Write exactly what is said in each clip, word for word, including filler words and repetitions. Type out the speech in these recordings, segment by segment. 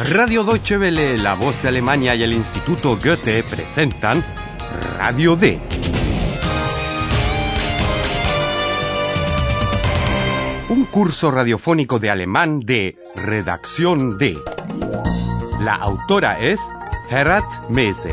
Radio Deutsche Welle, La Voz de Alemania y el Instituto Goethe presentan Radio D. Un curso radiofónico de alemán de Redacción D. La autora es Herat Mese.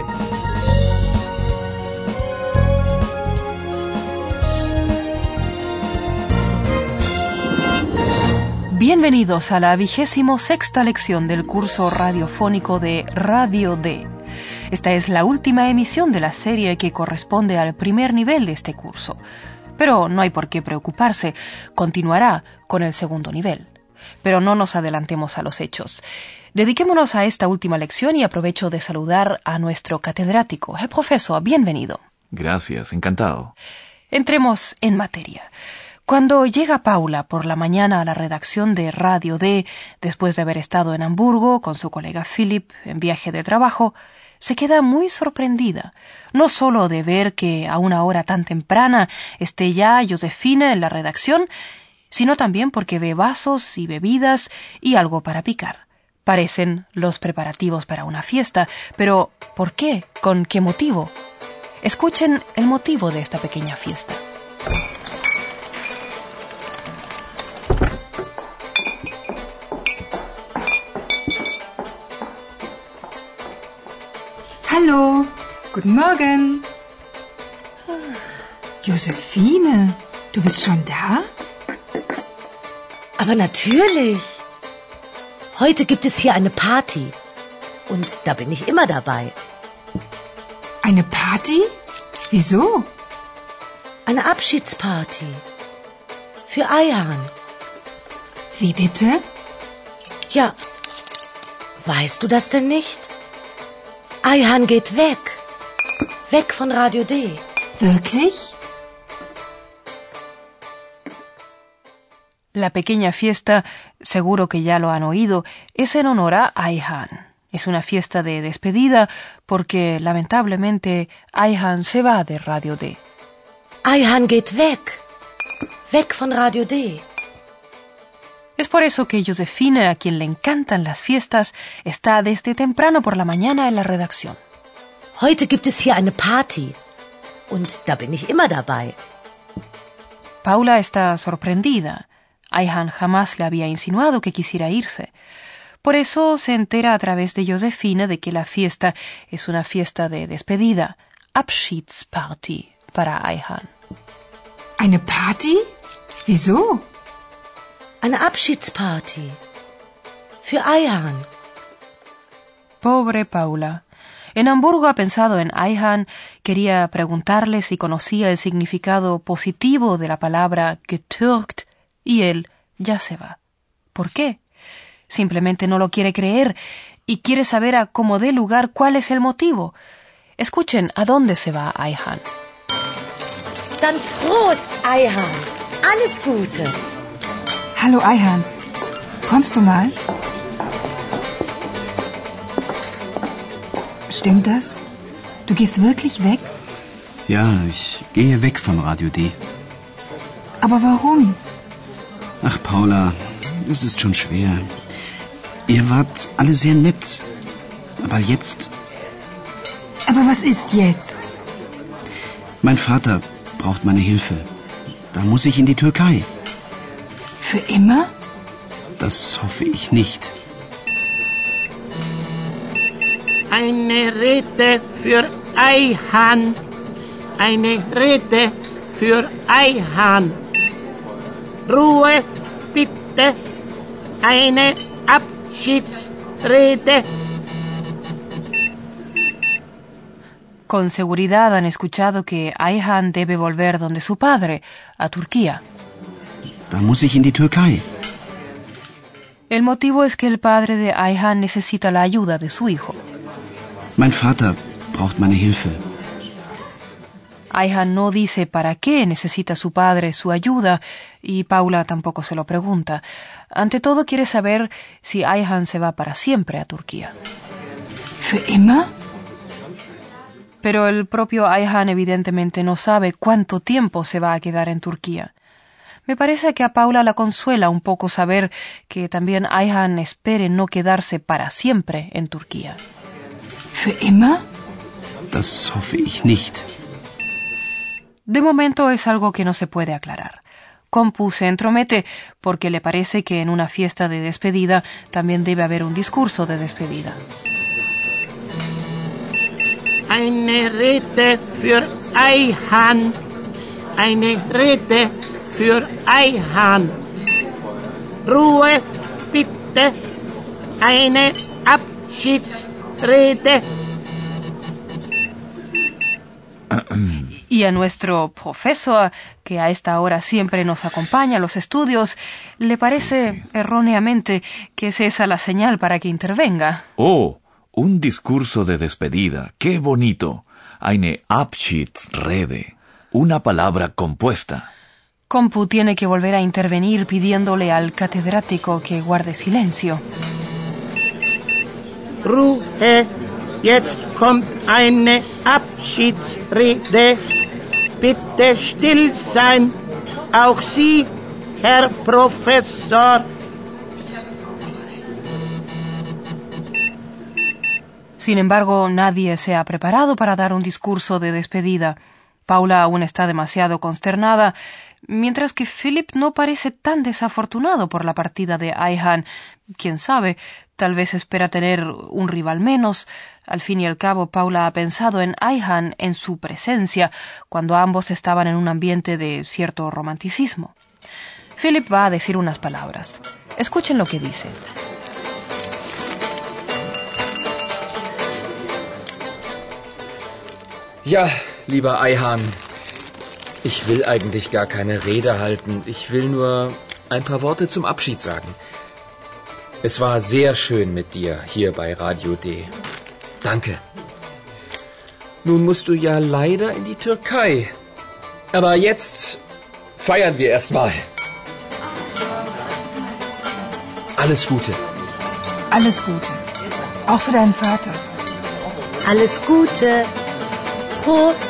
Bienvenidos a la vigésimo sexta lección del curso radiofónico de Radio D. Esta es la última emisión de la serie que corresponde al primer nivel de este curso. Pero no hay por qué preocuparse, continuará con el segundo nivel. Pero no nos adelantemos a los hechos. Dediquémonos a esta última lección y aprovecho de saludar a nuestro catedrático. Herr Profesor, bienvenido. Gracias, encantado. Entremos en materia. Cuando llega Paula por la mañana a la redacción de Radio D, después de haber estado en Hamburgo con su colega Philip en viaje de trabajo, se queda muy sorprendida, no solo de ver que a una hora tan temprana esté ya Josefina en la redacción, sino también porque ve vasos y bebidas y algo para picar. Parecen los preparativos para una fiesta, pero ¿por qué? ¿Con qué motivo? Escuchen el motivo de esta pequeña fiesta. Hallo, guten Morgen. Josephine, du bist schon da? Aber natürlich. Heute gibt es hier eine Party. Und da bin ich immer dabei. Eine Party? Wieso? Eine Abschiedsparty. Für Ayhan. Wie bitte? Ja, weißt du das denn nicht? Ayhan geht weg. Weg von Radio D. Wirklich? La pequeña fiesta, seguro que ya lo han oído, es en honor a Ayhan. Es una fiesta de despedida porque, lamentablemente, Ayhan se va de Radio D. Ayhan geht weg. Weg von Radio D. Es por eso que Josefina, a quien le encantan las fiestas, está desde temprano por la mañana en la redacción. Heute gibt es hier eine Party. Und da bin ich immer dabei. Paula está sorprendida. Ayhan jamás le había insinuado que quisiera irse. Por eso se entera a través de Josefina de que la fiesta es una fiesta de despedida, Abschiedsparty, para Ayhan. Eine Party? Wieso? Eine Abschiedsparty. Für Ayhan. Pobre Paula. En Hamburgo ha pensado en Ayhan, quería preguntarle si conocía el significado positivo de la palabra getürkt, y él ya se va. ¿Por qué? Simplemente no lo quiere creer y quiere saber a cómo dé lugar cuál es el motivo. Escuchen a dónde se va Ayhan. Dann Prost, Ayhan. Alles Gute. Hallo Ayhan, kommst du mal? Stimmt das? Du gehst wirklich weg? Ja, ich gehe weg von Radio D. Aber warum? Ach, Paula, es ist schon schwer. Ihr wart alle sehr nett. Aber jetzt... Aber was ist jetzt? Mein Vater braucht meine Hilfe. Da muss ich in die Türkei. Für immer? Das hoffe ich nicht. Eine Rede für Ayhan. Eine Rede für Ayhan. Ruhe, bitte. Eine Abschiedsrede. Con seguridad han escuchado que Ayhan debe volver donde su padre, a Turquía. Da muss ich in die Türkei. El motivo es que el padre de Ayhan necesita la ayuda de su hijo. Mein Vater braucht meine Hilfe. Ayhan no dice para qué necesita su padre su ayuda y Paula tampoco se lo pregunta. Ante todo quiere saber si Ayhan se va para siempre a Turquía. ¿Für immer? Pero el propio Ayhan evidentemente no sabe cuánto tiempo se va a quedar en Turquía. Me parece que a Paula la consuela un poco saber que también Ayhan espere no quedarse para siempre en Turquía. Für immer? Das hoffe ich nicht. De momento es algo que no se puede aclarar. Kompu se entromete porque le parece que en una fiesta de despedida también debe haber un discurso de despedida. Eine Rede für Ayhan. Eine Rede für Ayhan. Ruhe, bitte. Eine Abschiedsrede. Y a nuestro profesor, que a esta hora siempre nos acompaña a los estudios, le parece sí, sí. erróneamente que es esa la señal para que intervenga. Oh, un discurso de despedida. ¡Qué bonito! Eine Abschiedsrede. Una palabra compuesta. Kompu tiene que volver a intervenir pidiéndole al catedrático que guarde silencio. Ruhe, jetzt kommt eine Abschiedsrede. Bitte still sein. Auch Sie, Herr Professor. Sin embargo, nadie se ha preparado para dar un discurso de despedida. Paula aún está demasiado consternada, mientras que Philip no parece tan desafortunado por la partida de Ayhan. Quién sabe, tal vez espera tener un rival menos. Al fin y al cabo, Paula ha pensado en Ayhan en su presencia, cuando ambos estaban en un ambiente de cierto romanticismo. Philip va a decir unas palabras. Escuchen lo que dice. Ja, lieber Ayhan, ich will eigentlich gar keine Rede halten. Ich will nur ein paar Worte zum Abschied sagen. Es war sehr schön mit dir hier bei Radio D. Danke. Nun musst du ja leider in die Türkei. Aber jetzt feiern wir erst mal. Alles Gute. Alles Gute. Auch für deinen Vater. Alles Gute. Prost.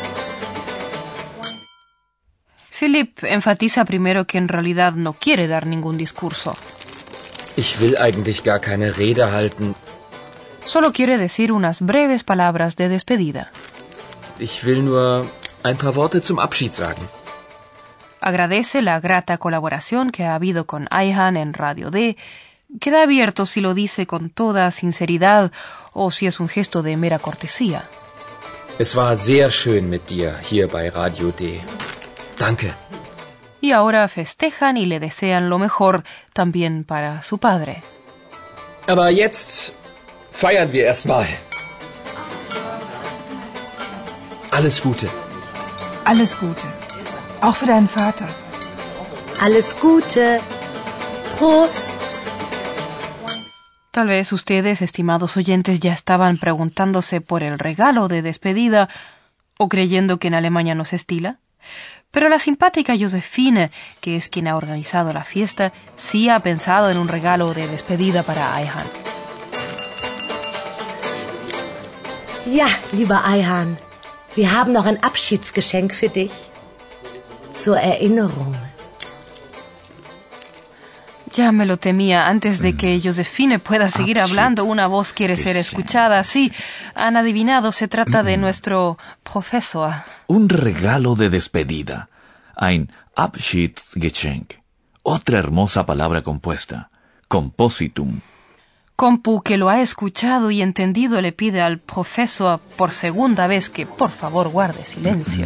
Philip enfatiza primero que en realidad no quiere dar ningún discurso. Ich will eigentlich gar keine Rede halten. Solo quiere decir unas breves palabras de despedida. Ich will nur ein paar Worte zum Abschied sagen. Agradece la grata colaboración que ha habido con Ayhan en Radio D. Queda abierto si lo dice con toda sinceridad o si es un gesto de mera cortesía. Es war sehr schön mit dir hier bei Radio D. Danke. Y ahora festejan y le desean lo mejor también para su padre. Aber jetzt feiern wir erst mal. Alles Gute. Alles Gute. Auch für deinen Vater. Alles Gute. Prost. Tal vez ustedes, estimados oyentes, ya estaban preguntándose por el regalo de despedida o creyendo que en Alemania no se estila. Pero la simpática Josefine, que es quien ha organizado la fiesta, sí ha pensado en un regalo de despedida para Ayhan. Ja, lieber Ayhan, wir haben noch ein Abschiedsgeschenk für dich. Zur Erinnerung. Ya me lo temía. Antes de que Josefine pueda seguir hablando, una voz quiere ser escuchada. Sí, han adivinado, se trata de nuestro profesor. Un regalo de despedida. Ein Abschiedsgeschenk. Otra hermosa palabra compuesta. Compositum. Kompu, que lo ha escuchado y entendido, le pide al profesor por segunda vez que por favor guarde silencio.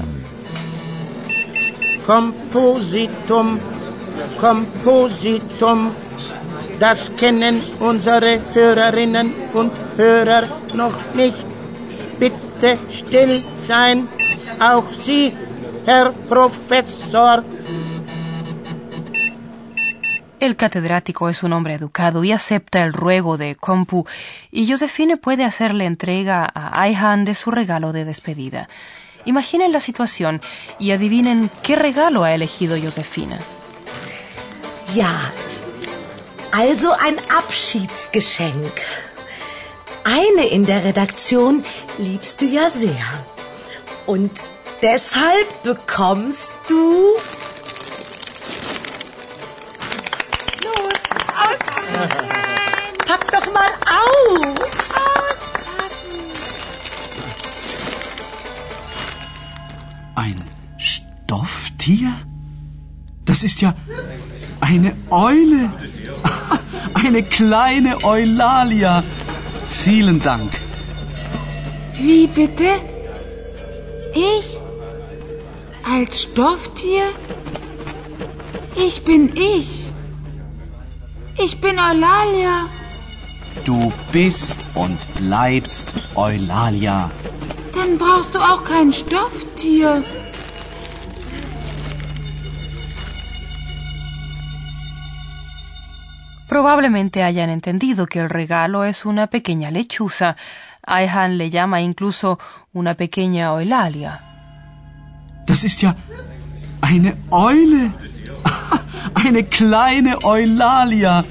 Compositum. Kompositum, das kennen unsere Hörerinnen und Hörer noch nicht. Bitte still sein, auch Sie, Herr Professor. El catedrático es un hombre educado y acepta el ruego de Kompu, y Josefine puede hacerle entrega a Ayhan de su regalo de despedida. Imaginen la situación y adivinen qué regalo ha elegido Josefine. Ja, also ein Abschiedsgeschenk. Eine in der Redaktion liebst du ja sehr. Und deshalb bekommst du mal auf! Ein Stofftier? Das ist ja eine Eule. Eine kleine Eulalia. Vielen Dank. Wie bitte? Ich? Als Stofftier? Ich bin ich. Ich bin Eulalia. Du bist und bleibst Eulalia. Dann brauchst du auch kein Stofftier. Probablemente hayan entendido que el regalo es una pequeña lechuza. Ayhan le llama incluso una pequeña Eulalia. Das ist ja eine Eule. Eine kleine Eulalia.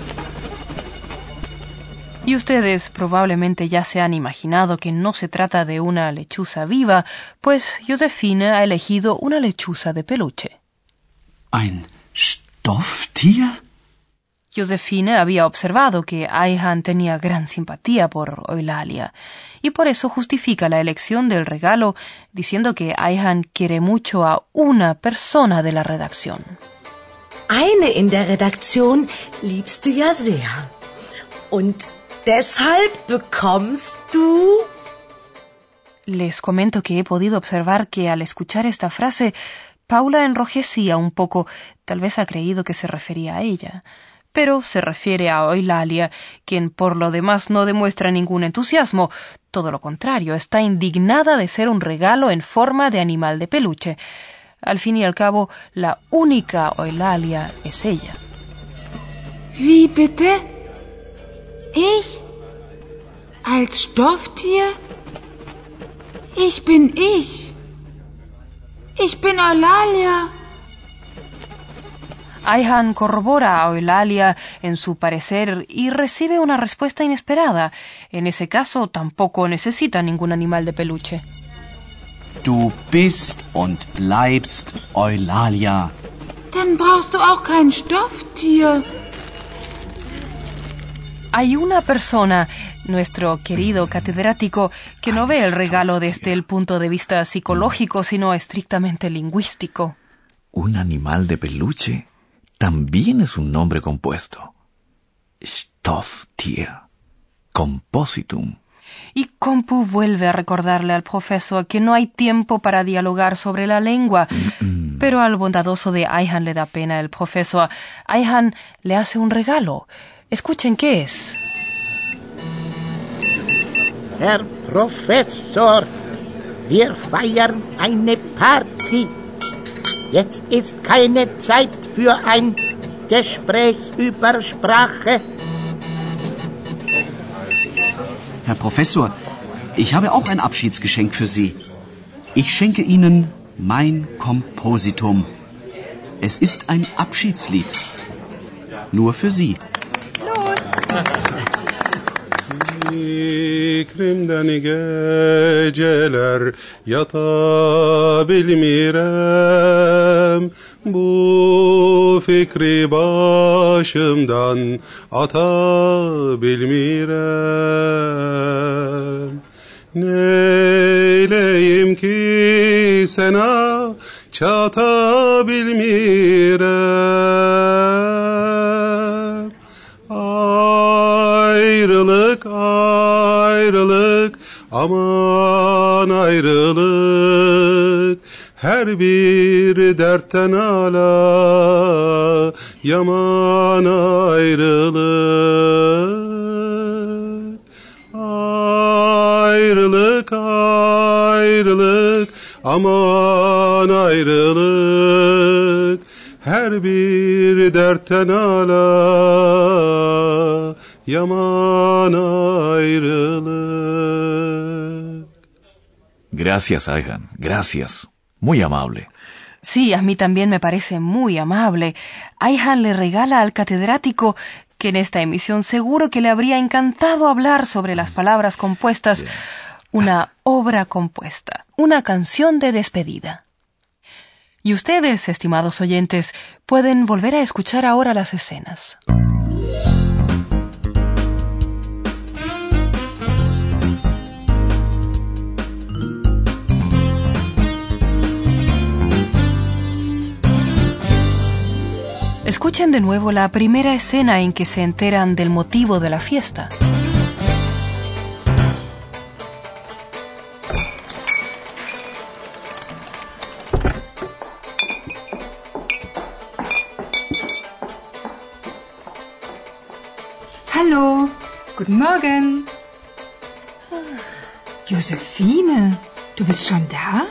Y ustedes probablemente ya se han imaginado que no se trata de una lechuza viva, pues Josephine ha elegido una lechuza de peluche. Ein Stofftier? Josephine había observado que Ayhan tenía gran simpatía por Eulalia, y por eso justifica la elección del regalo diciendo que Ayhan quiere mucho a una persona de la redacción. Eine in der Redaktion liebst du ja sehr. Und deshalb bekommst du... Les comento que he podido observar que al escuchar esta frase, Paula enrojecía un poco, tal vez ha creído que se refería a ella. Pero se refiere a Eulalia, quien por lo demás no demuestra ningún entusiasmo. Todo lo contrario, está indignada de ser un regalo en forma de animal de peluche. Al fin y al cabo, la única Eulalia es ella. Wie bitte? Ich? Als Stofftier? Ich bin ich. Ich bin Eulalia. Ayhan corrobora a Eulalia en su parecer y recibe una respuesta inesperada. En ese caso, tampoco necesita ningún animal de peluche. Du bist und bleibst Eulalia. Dann brauchst du auch kein Stofftier. Hay una persona, nuestro querido catedrático, que no ve el regalo desde el punto de vista psicológico, sino estrictamente lingüístico. ¿Un animal de peluche? También es un nombre compuesto. Stofftier. Compositum. Y Compu vuelve a recordarle al profesor que no hay tiempo para dialogar sobre la lengua. Mm-mm. Pero al bondadoso de Ayhan le da pena el profesor. Ayhan le hace un regalo. Escuchen qué es. Herr Professor, wir feiern eine Party. Jetzt ist keine Zeit für ein Gespräch über Sprache. Herr Professor, ich habe auch ein Abschiedsgeschenk für Sie. Ich schenke Ihnen mein Kompositum. Es ist ein Abschiedslied. Nur für Sie. Los! Fikrimden geceler yatabilmirem, bu fikri başımdan atabilmirem. Neyleyim ki sana çatabilmirem. Ayrılık, ayrılık, aman ayrılık. Her bir dertten ala, yaman ayrılık. Ayrılık, ayrılık, aman ayrılık. Her bir dertten ala, yaman ayrılık. Gracias, Ayhan. Gracias. Muy amable. Sí, a mí también me parece muy amable. Ayhan le regala al catedrático, que en esta emisión seguro que le habría encantado hablar sobre las palabras compuestas, yeah. una obra compuesta, una canción de despedida. Y ustedes, estimados oyentes, pueden volver a escuchar ahora las escenas. Escuchen de nuevo la primera escena en que se enteran del motivo de la fiesta. Hallo, guten Morgen. Josephine, du bist schon da?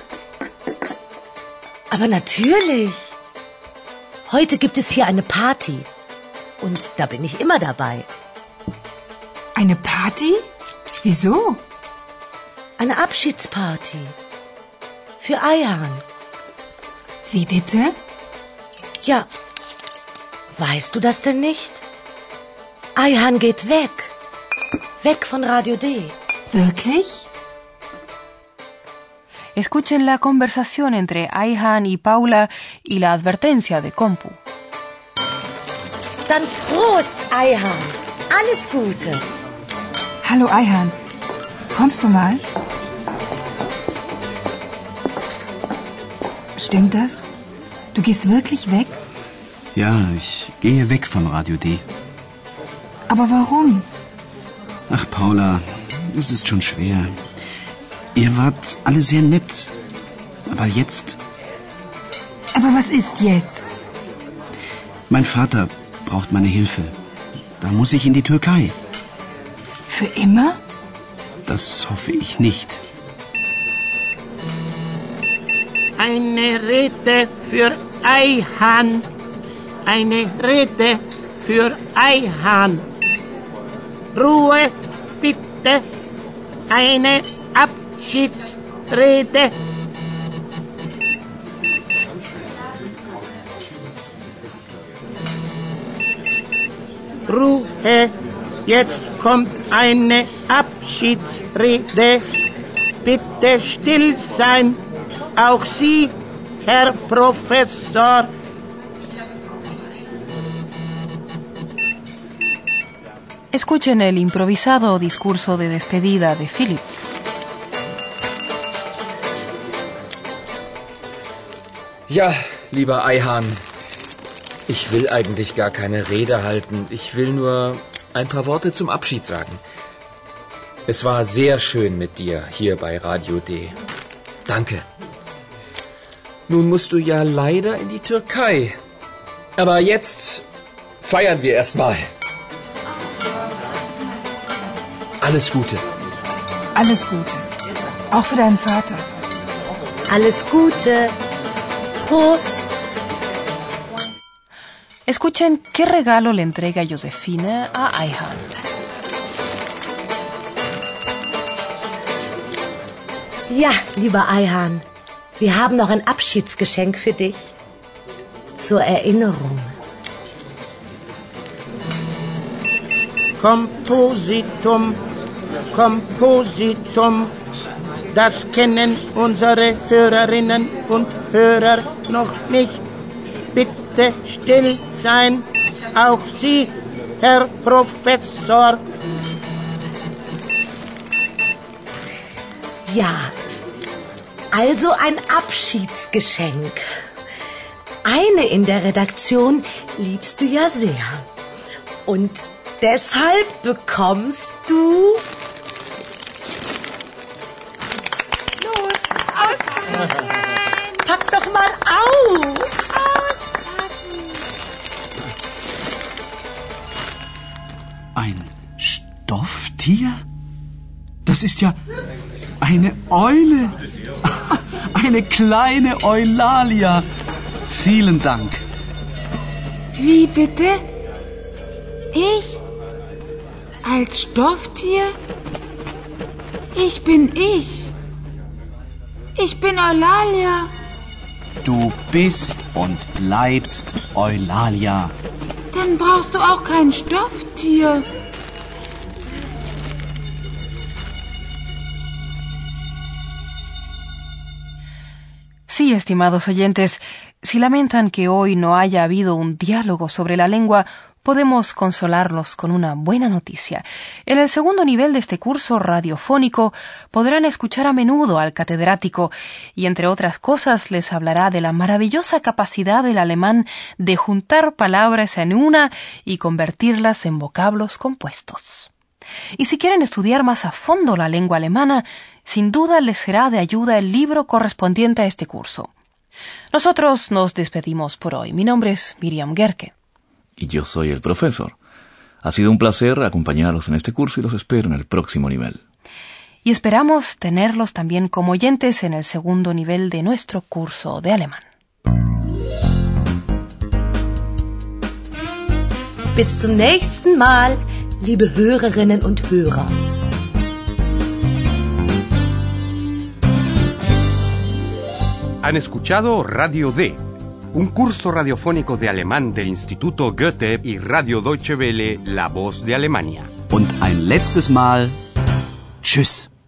Aber natürlich. Heute gibt es hier eine Party. Und da bin ich immer dabei. Eine Party? Wieso? Eine Abschiedsparty. Für Ayhan. Wie bitte? Ja. Weißt du das denn nicht? Ayhan geht weg. Weg von Radio D. Wirklich? Escuchen la conversación entre Ayhan y Paula y la advertencia de Compu. Dann Prost, Ayhan. Alles Gute. Hallo Ayhan, kommst du mal? Stimmt das? Du gehst wirklich weg? Ja, ich gehe weg von Radio D. Aber warum? Ach, Paula, es ist schon schwer. Ihr wart alle sehr nett. Aber jetzt... Aber was ist jetzt? Mein Vater braucht meine Hilfe. Da muss ich in die Türkei. Für immer? Das hoffe ich nicht. Eine Rede für Ayhan. Eine Rede für Ayhan. Ruhe, bitte. Eine Abschiedsrede. Ruhe, jetzt kommt eine Abschiedsrede. Bitte still sein. Auch Sie, Herr Professor. Escuchen el improvisado discurso de despedida de Philip. Ja, lieber Ayhan, ich will eigentlich gar keine Rede halten. Ich will nur ein paar Worte zum Abschied sagen. Es war sehr schön mit dir hier bei Radio D. Danke. Nun musst du ja leider in die Türkei. Aber jetzt feiern wir erstmal. Alles Gute. Alles Gute. Auch für deinen Vater. Alles Gute. Prost. Escuchen qué regalo le entrega Josephine a Ayhan. Ja, lieber Ayhan, wir haben noch ein Abschiedsgeschenk für dich. Zur Erinnerung. Kompositum, Kompositum, das kennen unsere Hörerinnen und Hörer noch nicht. Bitte still sein, auch Sie, Herr Professor. Ja, also ein Abschiedsgeschenk. Eine in der Redaktion liebst du ja sehr. Und deshalb bekommst du... Los, auspacken! Pack doch mal aus! Auspacken! Ein Stofftier? Das ist ja eine Eule. Eine kleine Eulalia. Vielen Dank. Wie bitte? Ich? Als Stofftier? Ich bin ich. Ich bin Eulalia. Du bist und bleibst Eulalia. Dann brauchst du auch kein Stofftier. Sí, estimados oyentes, si lamentan que hoy no haya habido un diálogo sobre la lengua, podemos consolarlos con una buena noticia. En el segundo nivel de este curso radiofónico podrán escuchar a menudo al catedrático y, entre otras cosas, les hablará de la maravillosa capacidad del alemán de juntar palabras en una y convertirlas en vocablos compuestos. Y si quieren estudiar más a fondo la lengua alemana, sin duda les será de ayuda el libro correspondiente a este curso. Nosotros nos despedimos por hoy. Mi nombre es Miriam Gerke. Y yo soy el profesor. Ha sido un placer acompañarlos en este curso y los espero en el próximo nivel. Y esperamos tenerlos también como oyentes en el segundo nivel de nuestro curso de alemán. Bis zum nächsten Mal, liebe Hörerinnen und Hörer. Han escuchado Radio D, un curso radiofónico de alemán del Instituto Goethe y Radio Deutsche Welle, La Voz de Alemania. Und ein letztes Mal, tschüss.